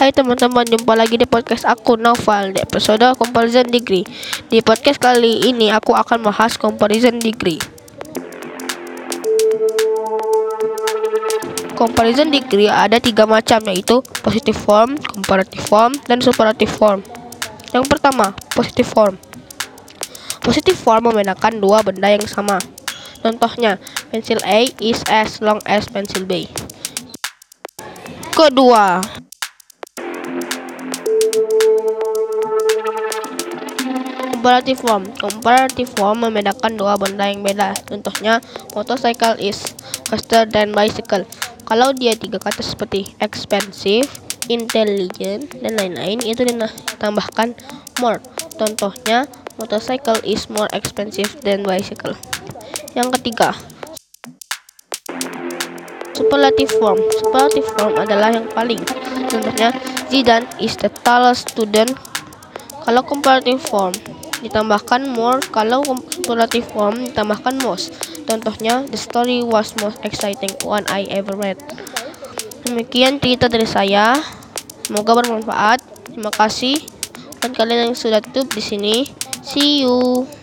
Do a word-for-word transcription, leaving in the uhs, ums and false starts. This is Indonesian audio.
Hai teman-teman, jumpa lagi di podcast aku Naufal di episode Comparison Degree. Di podcast kali ini aku akan bahas Comparison Degree. Comparison Degree ada tiga macam, yaitu positive form, comparative form, dan superlative form. Yang pertama, positive form. Positive form membedakan dua benda yang sama. Contohnya, pensil A is as long as pensil B. Kedua, comparative form. Comparative form membedakan dua benda yang beda. Contohnya, motorcycle is faster than bicycle. Kalau dia tiga kata seperti expensive, intelligent, dan lain-lain, itu ditambahkan more. Contohnya, motorcycle is more expensive than bicycle. Yang ketiga, superlative form. Superlative form adalah yang paling. Contohnya, Zidane is the tallest student. Kalau comparative form ditambahkan more, kalau superlative form ditambahkan most. Contohnya, the story was most exciting one I ever read. Demikian cerita dari saya. Semoga bermanfaat. Terima kasih buat kalian yang sudah tutup di sini. See you.